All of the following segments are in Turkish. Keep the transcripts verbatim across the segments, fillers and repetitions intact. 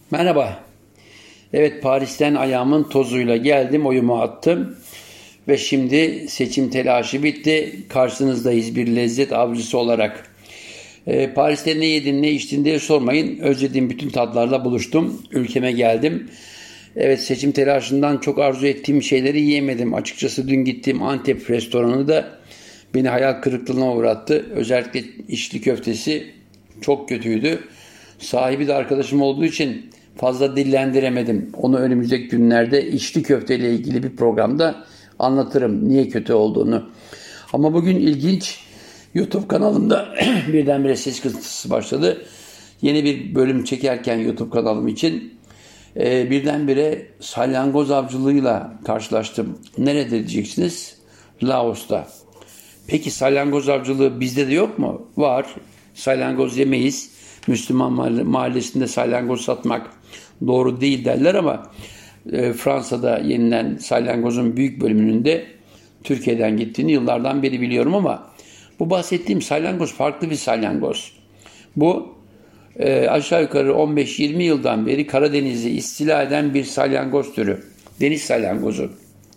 Merhaba. Evet, Paris'ten ayağımın tozuyla geldim, oyumu attım ve şimdi seçim telaşı bitti. Karşınızdayız bir lezzet avcısı olarak. Ee, Paris'te ne yedin, ne içtin diye sormayın. Özlediğim bütün tatlarla buluştum. Ülkeme geldim. Evet, seçim telaşından çok arzu ettiğim şeyleri yiyemedim. Açıkçası dün gittiğim Antep restoranı da beni hayal kırıklığına uğrattı. Özellikle içli köftesi çok kötüydü. Sahibi de arkadaşım olduğu için fazla dillendiremedim. Onu önümüzdeki günlerde içli köfteyle ilgili bir programda anlatırım niye kötü olduğunu. Ama bugün ilginç, YouTube kanalımda birdenbire ses kısıntısı başladı. Yeni bir bölüm çekerken YouTube kanalım için e, birdenbire salyangoz avcılığıyla karşılaştım. Nerede diyeceksiniz? Laos'ta. Peki salyangoz avcılığı bizde de yok mu? Var. Salyangoz yemeyiz. Müslüman mahallesinde salyangoz satmak doğru değil derler ama e, Fransa'da yenilen salyangozun büyük bölümünün de Türkiye'den gittiğini yıllardan beri biliyorum ama bu bahsettiğim salyangoz farklı bir salyangoz. Bu e, aşağı yukarı on beş yirmi yıldan beri Karadeniz'i istila eden bir salyangoz türü. Deniz salyangozu.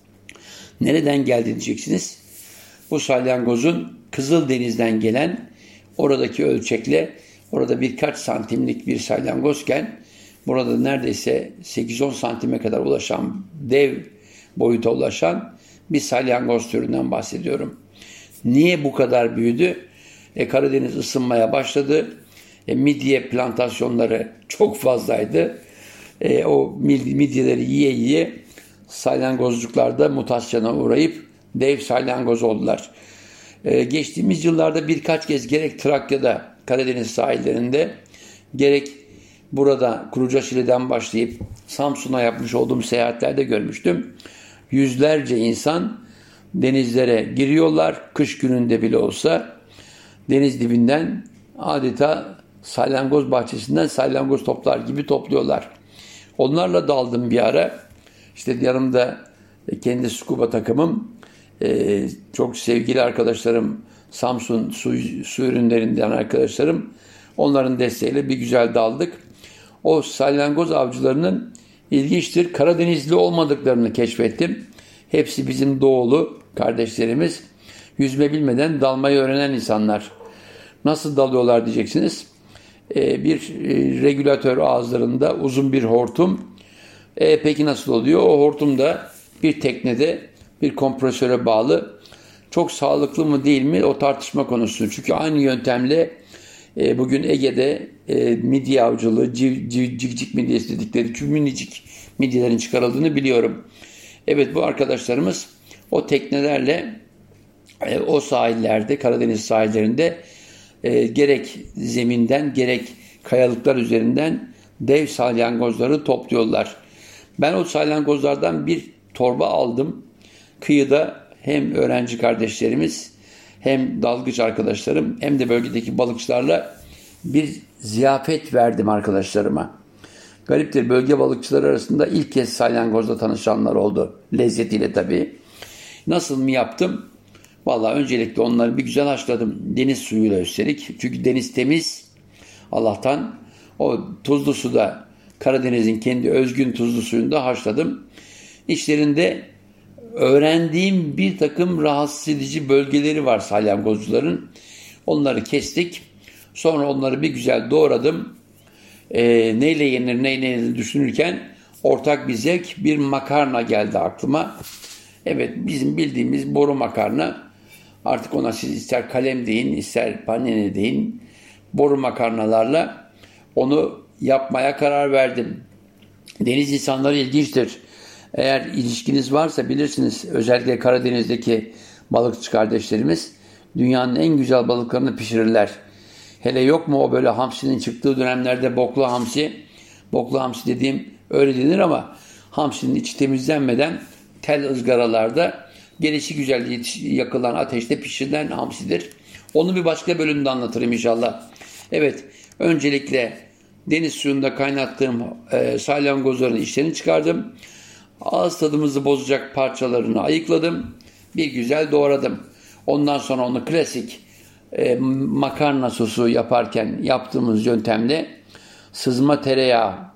Nereden geldi diyeceksiniz? Bu salyangozun Kızıldeniz'den gelen oradaki ölçekle orada birkaç santimlik bir salyangozken burada neredeyse sekiz on santime kadar ulaşan, dev boyuta ulaşan bir salyangoz türünden bahsediyorum. Niye bu kadar büyüdü? E, Karadeniz ısınmaya başladı. E, midye plantasyonları çok fazlaydı. E, o midyeleri yiye yiye salyangozcuklar da mutasyona uğrayıp dev salyangoz oldular. Ee, geçtiğimiz yıllarda birkaç kez gerek Trakya'da Karadeniz sahillerinde gerek burada Kurucaşili'den başlayıp Samsun'a yapmış olduğum seyahatlerde görmüştüm. Yüzlerce insan denizlere giriyorlar. Kış gününde bile olsa deniz dibinden adeta salyangoz bahçesinden salyangoz toplar gibi topluyorlar. Onlarla daldım bir ara. İşte yanımda kendi scuba takımım, Ee, çok sevgili arkadaşlarım, Samsun su, su ürünlerinden arkadaşlarım, onların desteğiyle bir güzel daldık. O salyangoz avcılarının ilginçtir, Karadenizli olmadıklarını keşfettim. Hepsi bizim doğulu kardeşlerimiz. Yüzme bilmeden dalmayı öğrenen insanlar. Nasıl dalıyorlar diyeceksiniz. Ee, bir e, regülatör ağızlarında uzun bir hortum. E, peki nasıl oluyor? O hortum da bir teknede bir kompresöre bağlı. Çok sağlıklı mı değil mi o tartışma konusu. Çünkü aynı yöntemle e, bugün Ege'de e, midye avcılığı, civ, civ, civcik midyesi dedikleri küçük minicik midyelerin çıkarıldığını biliyorum. Evet, bu arkadaşlarımız o teknelerle e, o sahillerde, Karadeniz sahillerinde e, gerek zeminden gerek kayalıklar üzerinden dev salyangozları topluyorlar. Ben o salyangozlardan bir torba aldım. Kıyıda hem öğrenci kardeşlerimiz hem dalgıç arkadaşlarım hem de bölgedeki balıkçılarla bir ziyafet verdim arkadaşlarıma. Gariptir, bölge balıkçıları arasında ilk kez salyangozla tanışanlar oldu. Lezzetiyle tabii. Nasıl mı yaptım? Vallahi öncelikle onları bir güzel haşladım. Deniz suyuyla üstelik. Çünkü deniz temiz. Allah'tan o tuzlu suda, Karadeniz'in kendi özgün tuzlu suyunda haşladım. İçlerinde öğrendiğim bir takım rahatsız edici bölgeleri var salyangozcuların. Onları kestik. Sonra onları bir güzel doğradım. E, neyle yenir, neyle yenir düşünürken ortak bir zevk, bir makarna geldi aklıma. Evet, bizim bildiğimiz boru makarna. Artık ona siz ister kalem deyin, ister panene deyin. Boru makarnalarla onu yapmaya karar verdim. Deniz insanları ilginçtir. Eğer ilişkiniz varsa bilirsiniz, özellikle Karadeniz'deki balıkçı kardeşlerimiz dünyanın en güzel balıklarını pişirirler. Hele yok mu o böyle hamsinin çıktığı dönemlerde boklu hamsi, boklu hamsi dediğim öyle denir ama hamsinin içi temizlenmeden tel ızgaralarda gelişi güzel yakılan ateşte pişirilen hamsidir. Onu bir başka bölümde anlatırım inşallah. Evet, öncelikle deniz suyunda kaynattığım e, salyangozların içlerini çıkardım. Ağız tadımızı bozacak parçalarını ayıkladım. Bir güzel doğradım. Ondan sonra onu klasik e, makarna sosu yaparken yaptığımız yöntemle sızma tereyağı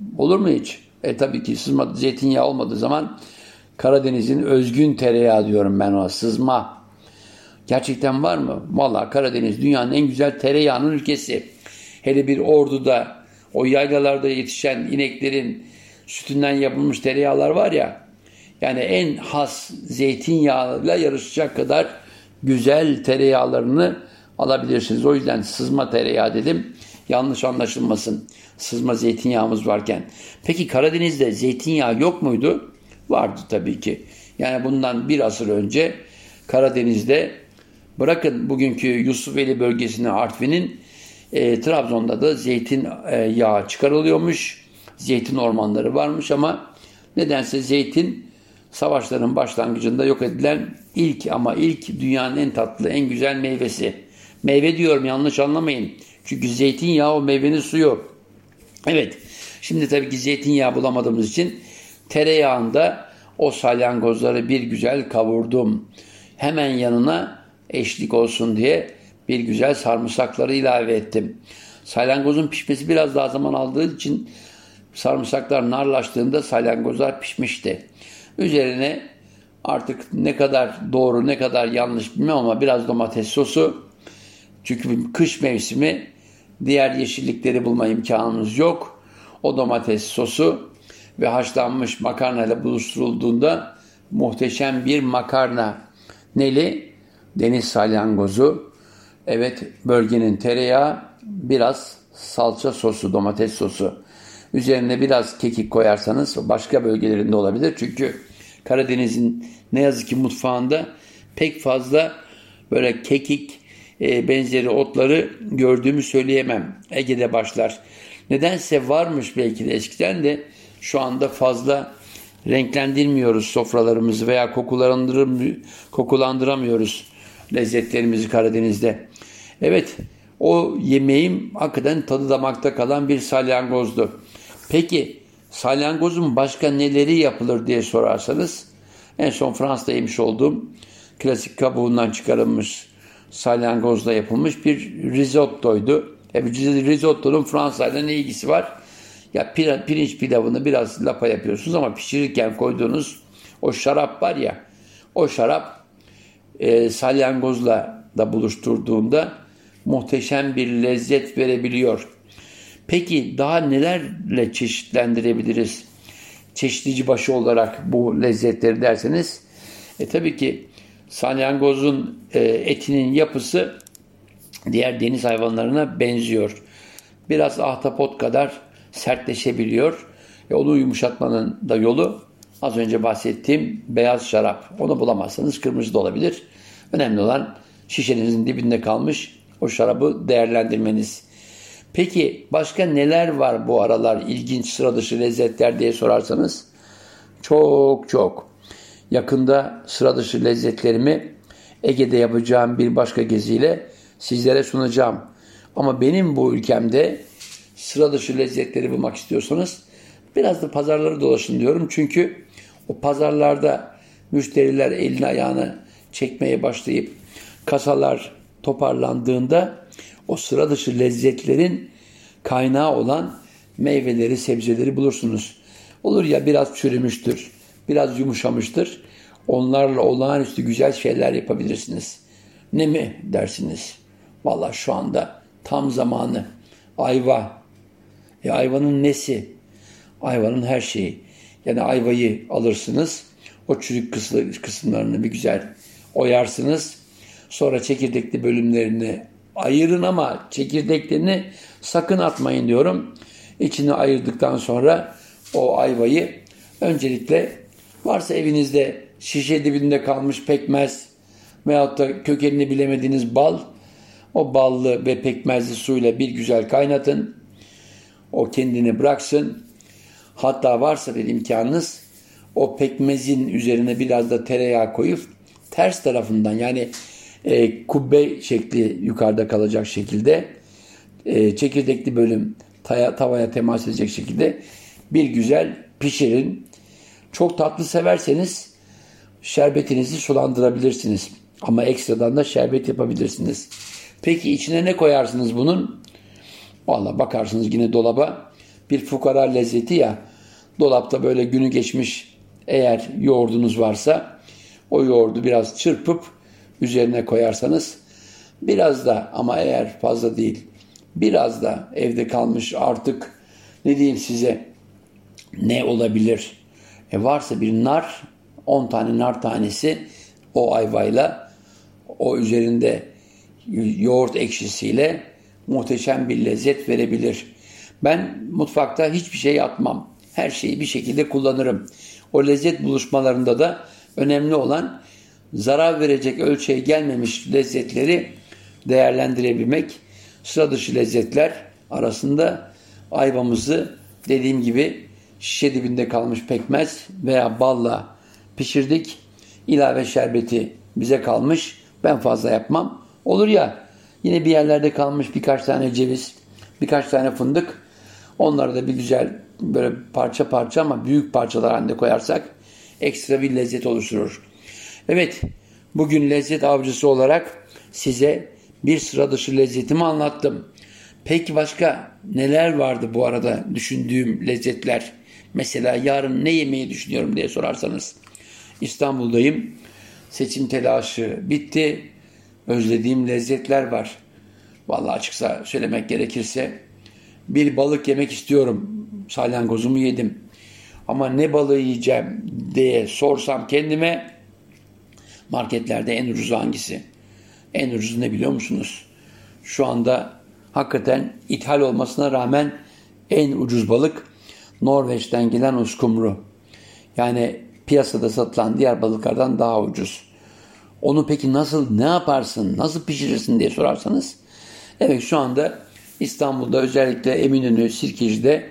Olur mu hiç? E tabii ki sızma zeytinyağı olmadığı zaman Karadeniz'in özgün tereyağı diyorum ben ona, sızma. Gerçekten var mı? Vallahi Karadeniz dünyanın en güzel tereyağının ülkesi. Hele bir Ordu'da o yaylalarda yetişen ineklerin sütünden yapılmış tereyağlar var ya, yani en has zeytinyağıyla yarışacak kadar güzel tereyağlarını alabilirsiniz. O yüzden sızma tereyağı dedim. Yanlış anlaşılmasın. Sızma zeytinyağımız varken. Peki Karadeniz'de zeytinyağı yok muydu? Vardı tabii ki. Yani bundan bir asır önce Karadeniz'de, bırakın bugünkü Yusufeli bölgesini, Artvin'in, e, Trabzon'da da zeytin e, yağı çıkarılıyormuş. Zeytin ormanları varmış ama nedense zeytin savaşların başlangıcında yok edilen ilk ama ilk dünyanın en tatlı, en güzel meyvesi. Meyve diyorum, yanlış anlamayın. Çünkü zeytinyağı o meyvenin suyu. Evet, şimdi tabii ki zeytinyağı bulamadığımız için tereyağında o salyangozları bir güzel kavurdum. Hemen yanına eşlik olsun diye bir güzel sarımsakları ilave ettim. Salyangozun pişmesi biraz daha zaman aldığı için sarımsaklar narlaştığında salyangozlar pişmişti. Üzerine artık ne kadar doğru ne kadar yanlış bilmem ama biraz domates sosu. Çünkü kış mevsimi, diğer yeşillikleri bulma imkanımız yok. O domates sosu ve haşlanmış makarna ile buluşturulduğunda muhteşem bir makarna. Neli? Deniz salyangozu. Evet, bölgenin tereyağı, biraz salça sosu, domates sosu. Üzerine biraz kekik koyarsanız, başka bölgelerinde olabilir. Çünkü Karadeniz'in ne yazık ki mutfağında pek fazla böyle kekik e, benzeri otları gördüğümü söyleyemem. Ege'de başlar. Nedense varmış belki de eskiden de, şu anda fazla renklendirmiyoruz sofralarımızı veya kokulandıramıyoruz lezzetlerimizi Karadeniz'de. Evet, o yemeğim hakikaten tadı damakta kalan bir salyangozdu. Peki salyangozun başka neleri yapılır diye sorarsanız, en son Fransa'da yemiş olduğum klasik kabuğundan çıkarılmış salyangozla yapılmış bir risottoydu. E, risottonun Fransa'yla ne ilgisi var? Ya pirinç pilavını biraz lapa yapıyorsunuz ama pişirirken koyduğunuz o şarap var ya, o şarap e, salyangozla da buluşturduğunda muhteşem bir lezzet verebiliyor. Peki daha nelerle çeşitlendirebiliriz çeşitlici başı olarak bu lezzetleri derseniz, e tabii ki salyangozun e, etinin yapısı diğer deniz hayvanlarına benziyor. Biraz ahtapot kadar sertleşebiliyor. E, onu yumuşatmanın da yolu az önce bahsettiğim beyaz şarap. Onu bulamazsanız kırmızı da olabilir. Önemli olan şişenizin dibinde kalmış o şarabı değerlendirmeniz. Peki başka neler var bu aralar ilginç, sıra dışı lezzetler diye sorarsanız, çok çok. Yakında sıra dışı lezzetlerimi Ege'de yapacağım bir başka geziyle sizlere sunacağım. Ama benim bu ülkemde sıra dışı lezzetleri bulmak istiyorsanız biraz da pazarları dolaşın diyorum. Çünkü o pazarlarda müşteriler elini ayağını çekmeye başlayıp kasalar toparlandığında o sıra dışı lezzetlerin kaynağı olan meyveleri, sebzeleri bulursunuz. Olur ya biraz çürümüştür, biraz yumuşamıştır. Onlarla olağanüstü güzel şeyler yapabilirsiniz. Ne mi dersiniz? Vallahi şu anda tam zamanı. Ayva. E ayvanın nesi? Ayvanın her şeyi. Yani ayvayı alırsınız. O çürük kısımlarını bir güzel oyarsınız. Sonra çekirdekli bölümlerini ayırın ama çekirdeklerini sakın atmayın diyorum. İçini ayırdıktan sonra o ayvayı öncelikle, varsa evinizde şişe dibinde kalmış pekmez veyahut da kökenini bilemediğiniz bal, o ballı ve pekmezli suyla bir güzel kaynatın. O kendini bıraksın. Hatta varsa bir imkanınız, o pekmezin üzerine biraz da tereyağı koyup ters tarafından, yani e, kubbe şekli yukarıda kalacak şekilde e, çekirdekli bölüm taya, tavaya temas edecek şekilde bir güzel pişirin. Çok tatlı severseniz şerbetinizi sulandırabilirsiniz. Ama ekstradan da şerbet yapabilirsiniz. Peki içine ne koyarsınız bunun? Vallahi bakarsınız yine dolaba bir fukara lezzeti ya. Dolapta böyle günü geçmiş eğer yoğurdunuz varsa o yoğurdu biraz çırpıp üzerine koyarsanız biraz da, ama eğer fazla değil, biraz da evde kalmış artık ne diyeyim size, ne olabilir? E varsa bir nar, on tane nar tanesi o ayvayla, o üzerinde yoğurt ekşisiyle muhteşem bir lezzet verebilir. Ben mutfakta hiçbir şey atmam. Her şeyi bir şekilde kullanırım. O lezzet buluşmalarında da önemli olan zarar verecek ölçüye gelmemiş lezzetleri değerlendirebilmek. Sıra dışı lezzetler arasında ayvamızı dediğim gibi şişe dibinde kalmış pekmez veya balla pişirdik. İlave şerbeti bize kalmış. Ben fazla yapmam. Olur ya, yine bir yerlerde kalmış birkaç tane ceviz, birkaç tane fındık. Onları da bir güzel böyle parça parça ama büyük parçalar halinde koyarsak ekstra bir lezzet oluşturur. Evet, bugün lezzet avcısı olarak size bir sıra dışı lezzetimi anlattım. Peki başka neler vardı bu arada düşündüğüm lezzetler? Mesela yarın ne yemeyi düşünüyorum diye sorarsanız. İstanbul'dayım. Seçim telaşı bitti. Özlediğim lezzetler var. Vallahi açıkça söylemek gerekirse bir balık yemek istiyorum. Salyangozumu yedim. Ama ne balığı yiyeceğim diye sorsam kendime, marketlerde en ucuz hangisi? En ucuz ne biliyor musunuz? Şu anda hakikaten ithal olmasına rağmen en ucuz balık Norveç'ten gelen uskumru. Yani piyasada satılan diğer balıklardan daha ucuz. Onu peki nasıl, ne yaparsın, nasıl pişirirsin diye sorarsanız, evet şu anda İstanbul'da özellikle Eminönü, Sirkeci'de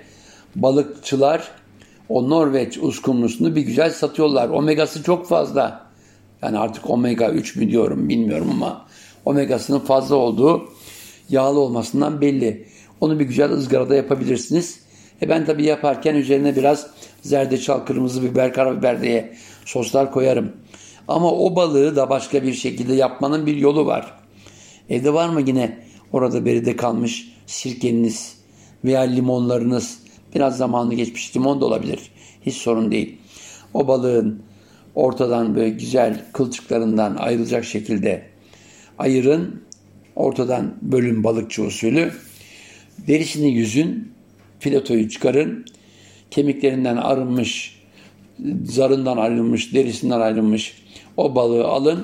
balıkçılar o Norveç uskumrusunu bir güzel satıyorlar. Omegası çok fazla. Yani artık omega üç mü diyorum bilmiyorum ama omegasının fazla olduğu, yağlı olmasından belli. Onu bir güzel ızgarada yapabilirsiniz. E ben tabii yaparken üzerine biraz zerdeçal, kırmızı biber, karabiber diye soslar koyarım. Ama o balığı da başka bir şekilde yapmanın bir yolu var. Evde var mı yine orada beride kalmış sirkeniz veya limonlarınız? Biraz zamanı geçmiş limon da olabilir. Hiç sorun değil. O balığın ortadan böyle güzel kılçıklarından ayrılacak şekilde ayırın. Ortadan bölün balıkçı usulü. Derisini yüzün. Filetoyu çıkarın. Kemiklerinden arınmış, zarından ayrılmış, derisinden ayrılmış o balığı alın.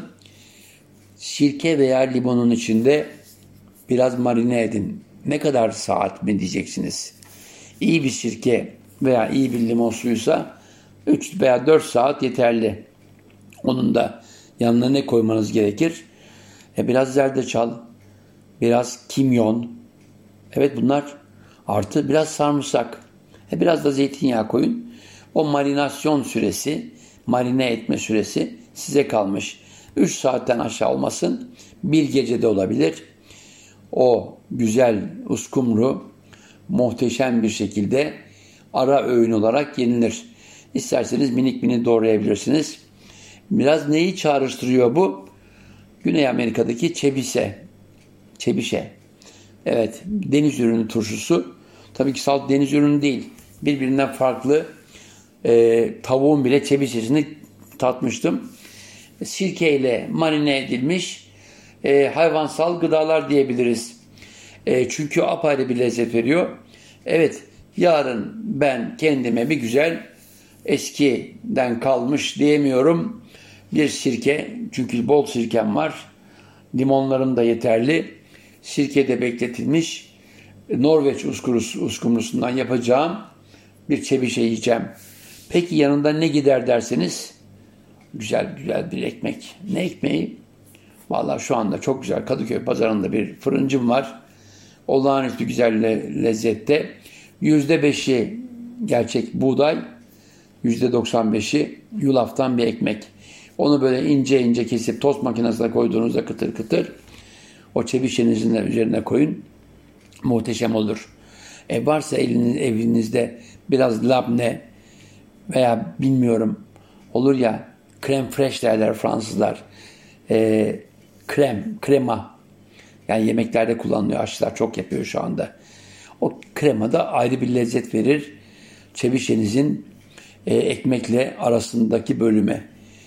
Sirke veya limonun içinde biraz marine edin. Ne kadar saat mi diyeceksiniz? İyi bir sirke veya iyi bir limon suyuysa üç veya dört saat yeterli. Onun da yanına ne koymanız gerekir? E biraz zerdeçal, biraz kimyon. Evet bunlar artı biraz sarımsak. E biraz da zeytinyağı koyun. O marinasyon süresi, marine etme süresi size kalmış. üç saatten aşağı olmasın. Bir gecede olabilir. O güzel uskumru muhteşem bir şekilde ara öğün olarak yenilir. İsterseniz minik minik doğrayabilirsiniz. Biraz neyi çağrıştırıyor bu? Güney Amerika'daki çebise. Çebişe. Evet, deniz ürünü turşusu. Tabii ki salt deniz ürünü değil. Birbirinden farklı e, tavuğun bile çebişesini tatmıştım. Sirkeyle marine edilmiş e, hayvansal gıdalar diyebiliriz. E, çünkü apayrı bir lezzet veriyor. Evet, yarın ben kendime bir güzel eskiden kalmış diyemiyorum bir sirke. Çünkü bol sirkem var. Limonlarım da yeterli. Sirkede bekletilmiş Norveç uskumrusundan yapacağım bir çebişe yiyeceğim. Peki yanında ne gider derseniz, güzel güzel bir ekmek. Ne ekmeği? Vallahi şu anda çok güzel Kadıköy pazarında bir fırıncım var. Olağanüstü güzel le- lezzette. yüzde beşi gerçek buğday, yüzde doksan beşi yulaftan bir ekmek. Onu böyle ince ince kesip tost makinesine koyduğunuzda kıtır kıtır o çebişenizin de üzerine koyun. Muhteşem olur. E varsa eliniz, evinizde biraz labne veya bilmiyorum olur ya krem fresh derler Fransızlar. E, krem, krema. Yani yemeklerde kullanılıyor. Aşçılar çok yapıyor şu anda. O krema da ayrı bir lezzet verir. Çebişenizin e, ekmekle arasındaki bölüme.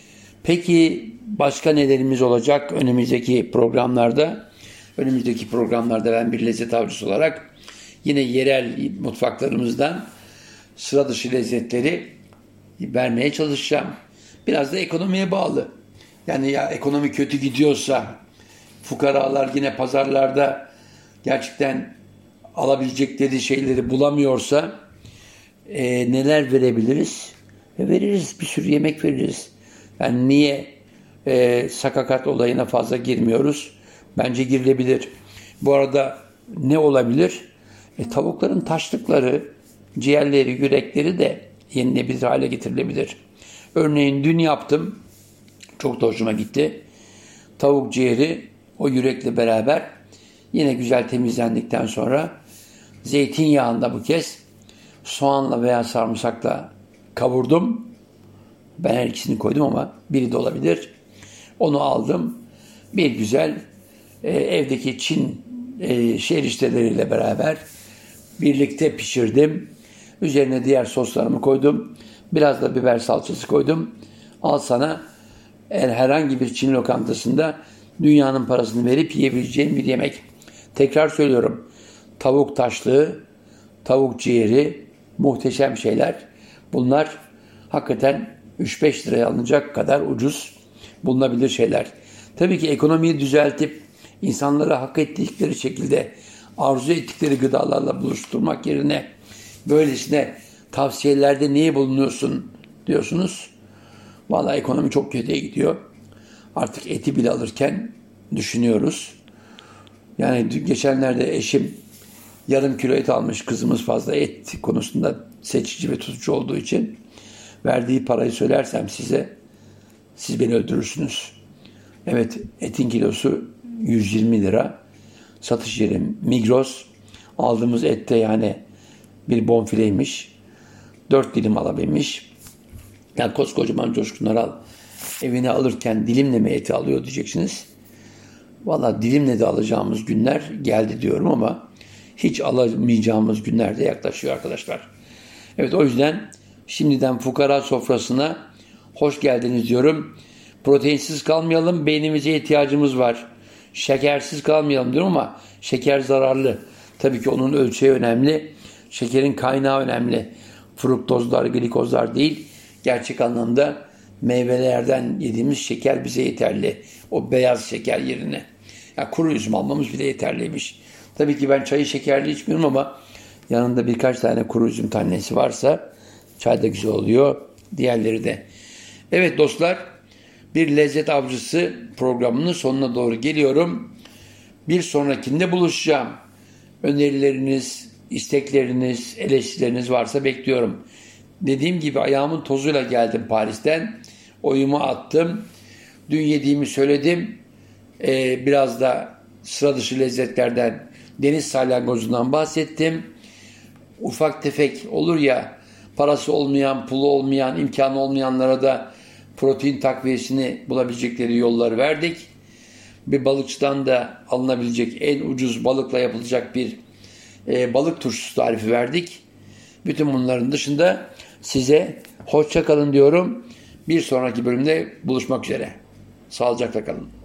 Peki başka nelerimiz olacak önümüzdeki programlarda? Önümüzdeki programlarda ben bir lezzet avcısı olarak yine yerel mutfaklarımızdan sıra dışı lezzetleri vermeye çalışacağım. Biraz da ekonomiye bağlı. Yani ya ekonomi kötü gidiyorsa, fukaralar yine pazarlarda gerçekten alabilecekleri şeyleri bulamıyorsa e, neler verebiliriz? E, veririz, bir sürü yemek veririz. Yani niye e, sakakat olayına fazla girmiyoruz? Bence girilebilir. Bu arada ne olabilir? E, tavukların taşlıkları, ciğerleri, yürekleri de yenilebilir hale getirilebilir. Örneğin dün yaptım. Çok da hoşuma gitti. Tavuk ciğeri o yürekle beraber yine güzel temizlendikten sonra zeytinyağında bu kez soğanla veya sarımsakla kavurdum. Ben her ikisini koydum ama biri de olabilir. Onu aldım. Bir güzel e, evdeki Çin e, şerişteleriyle beraber birlikte pişirdim. Üzerine diğer soslarımı koydum. Biraz da biber salçası koydum. Al sana herhangi bir Çin lokantasında dünyanın parasını verip yiyebileceğin bir yemek. Tekrar söylüyorum. Tavuk taşlığı, tavuk ciğeri muhteşem şeyler. Bunlar hakikaten üç beş liraya alınacak kadar ucuz bulunabilir şeyler. Tabii ki ekonomiyi düzeltip insanlara hak ettikleri şekilde arzu ettikleri gıdalarla buluşturmak yerine böylesine tavsiyelerde niye bulunuyorsun diyorsunuz. Vallahi ekonomi çok kötüye gidiyor. Artık eti bile alırken düşünüyoruz. Yani geçenlerde eşim yarım kilo et almış. Kızımız fazla et konusunda seçici ve tutucu olduğu için verdiği parayı söylersem size siz beni öldürürsünüz. Evet, etin kilosu yüz yirmi lira. Satış yeri Migros. Aldığımız ette yani bir bonfileymiş. dört dilim alabilmiş. Yani koskocaman Coşkun Aral evine alırken dilimle mi eti alıyor diyeceksiniz. Valla dilimle de alacağımız günler geldi diyorum ama hiç alamayacağımız günler de yaklaşıyor arkadaşlar. Evet, o yüzden şimdiden fukara sofrasına hoş geldiniz diyorum. Proteinsiz kalmayalım, beynimize ihtiyacımız var. Şekersiz kalmayalım diyorum ama şeker zararlı. Tabii ki onun ölçeği önemli. Şekerin kaynağı önemli. Fruktozlar, glikozlar değil. Gerçek anlamda meyvelerden yediğimiz şeker bize yeterli. O beyaz şeker yerine. Yani kuru üzüm almamız bile yeterliymiş. Tabii ki ben çayı şekerli içmiyorum ama yanında birkaç tane kuru üzüm tanesi varsa çay da güzel oluyor. Diğerleri de. Evet dostlar, bir lezzet avcısı programının sonuna doğru geliyorum. Bir sonrakinde buluşacağım. Önerileriniz, istekleriniz, eleştirileriniz varsa bekliyorum. Dediğim gibi ayağımın tozuyla geldim Paris'ten. Oyumu attım. Dün yediğimi söyledim. Ee, biraz da sıra dışı lezzetlerden, deniz salyangozundan bahsettim. Ufak tefek olur ya, parası olmayan, pulu olmayan, imkanı olmayanlara da protein takviyesini bulabilecekleri yolları verdik. Bir balıkçıdan da alınabilecek en ucuz balıkla yapılacak bir e, balık turşusu tarifi verdik. Bütün bunların dışında size hoşça kalın diyorum. Bir sonraki bölümde buluşmak üzere. Sağlıcakla kalın.